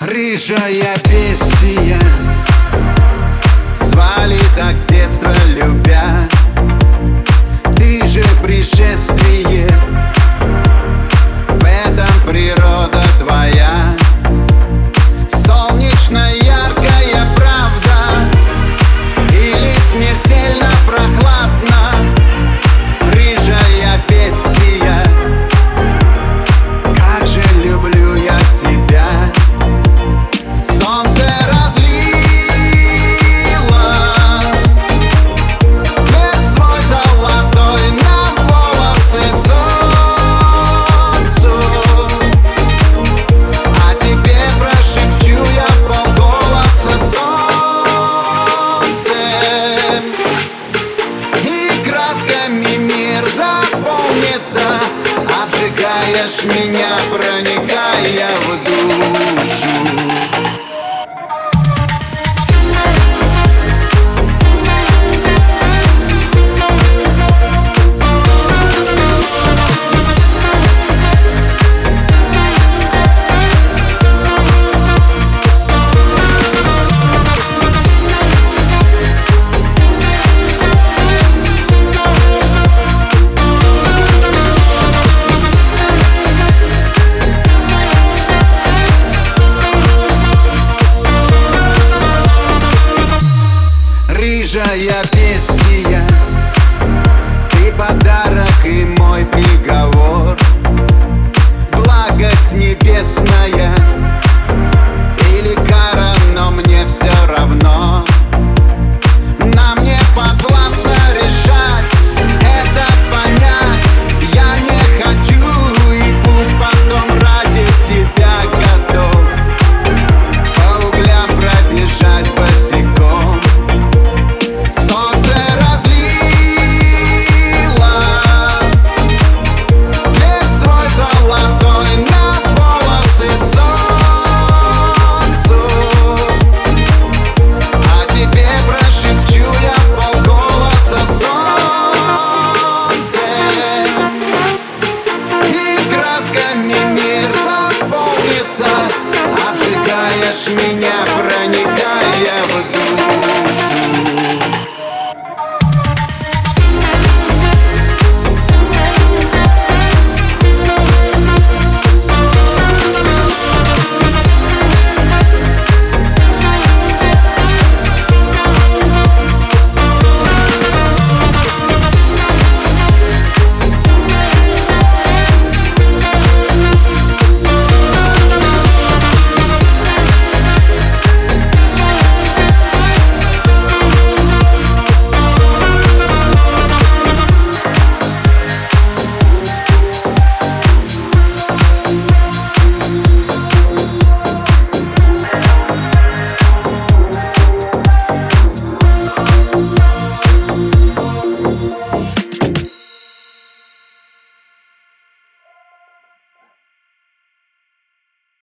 Рыжая бестия, звали так с детства любя. Ты же пришествие, в этом природа твоя. Солнечно яркая правда или смертельно прохладно? Рыжая бестия, как же люблю я тебя. Солнце разлило цвет свой золотой на волосы солнцу, а тебе прошепчу я полголоса солнцем. И красками мир заполнится, обжигаешь меня, проникая в душу. Рыжая бестия, ты подарок и мой приговор. Благость небесная или кара, но мне все равно. Нам не подвластно решать, это понять я не хочу. И пусть потом ради тебя готов по углям пробежать босиком. Солнце разлило цвет свой золотой на волосы солнцу, а тебе прошепчу я полголоса солнцем. И красками мир заполнится, обжигаешь меня.